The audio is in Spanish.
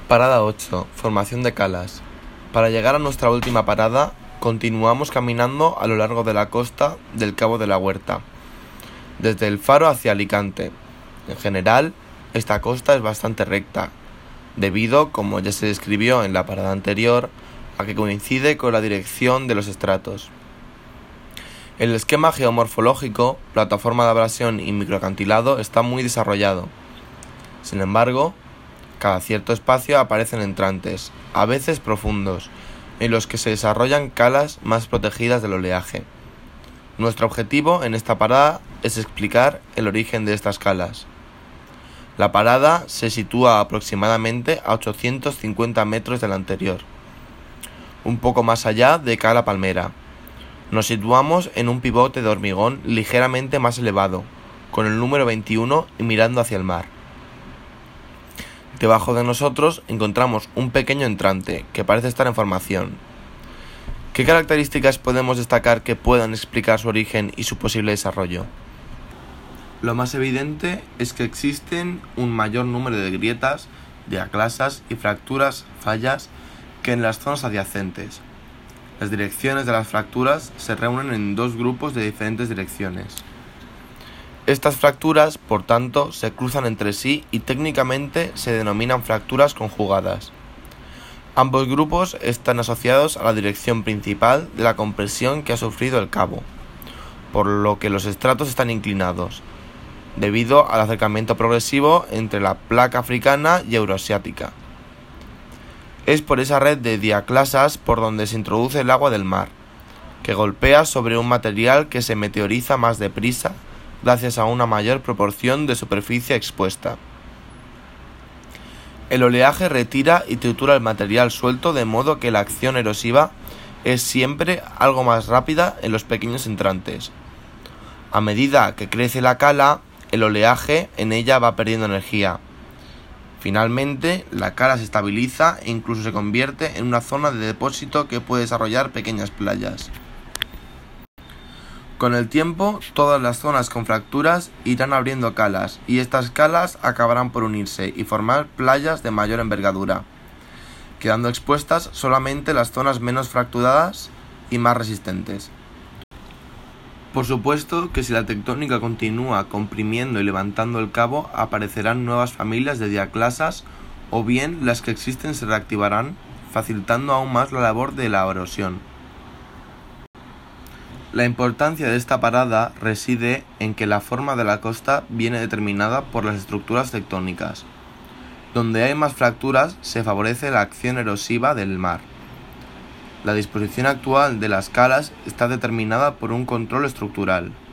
Parada 8. Formación de calas. Para llegar a nuestra última parada, continuamos caminando a lo largo de la costa del Cabo de la Huerta, desde el Faro hacia Alicante. En general, esta costa es bastante recta, debido, como ya se describió en la parada anterior, a que coincide con la dirección de los estratos. El esquema geomorfológico, plataforma de abrasión y microacantilado está muy desarrollado. Sin embargo, cada cierto espacio aparecen entrantes, a veces profundos, en los que se desarrollan calas más protegidas del oleaje. Nuestro objetivo en esta parada es explicar el origen de estas calas. La parada se sitúa aproximadamente a 850 metros de la anterior, un poco más allá de Cala Palmera. Nos situamos en un pivote de hormigón ligeramente más elevado, con el número 21 y mirando hacia el mar. Debajo de nosotros encontramos un pequeño entrante que parece estar en formación. ¿Qué características podemos destacar que puedan explicar su origen y su posible desarrollo? Lo más evidente es que existen un mayor número de grietas, diaclasas y fracturas, fallas, que en las zonas adyacentes. Las direcciones de las fracturas se reúnen en dos grupos de diferentes direcciones. Estas fracturas, por tanto, se cruzan entre sí y técnicamente se denominan fracturas conjugadas. Ambos grupos están asociados a la dirección principal de la compresión que ha sufrido el cabo, por lo que los estratos están inclinados, debido al acercamiento progresivo entre la placa africana y euroasiática. Es por esa red de diaclasas por donde se introduce el agua del mar, que golpea sobre un material que se meteoriza más deprisa gracias a una mayor proporción de superficie expuesta. El oleaje retira y tritura el material suelto de modo que la acción erosiva es siempre algo más rápida en los pequeños entrantes. A medida que crece la cala, el oleaje en ella va perdiendo energía. Finalmente, la cala se estabiliza e incluso se convierte en una zona de depósito que puede desarrollar pequeñas playas. Con el tiempo, todas las zonas con fracturas irán abriendo calas y estas calas acabarán por unirse y formar playas de mayor envergadura, quedando expuestas solamente las zonas menos fracturadas y más resistentes. Por supuesto que si la tectónica continúa comprimiendo y levantando el cabo, aparecerán nuevas familias de diaclasas o bien las que existen se reactivarán, facilitando aún más la labor de la erosión. La importancia de esta parada reside en que la forma de la costa viene determinada por las estructuras tectónicas. Donde hay más fracturas se favorece la acción erosiva del mar. La disposición actual de las calas está determinada por un control estructural.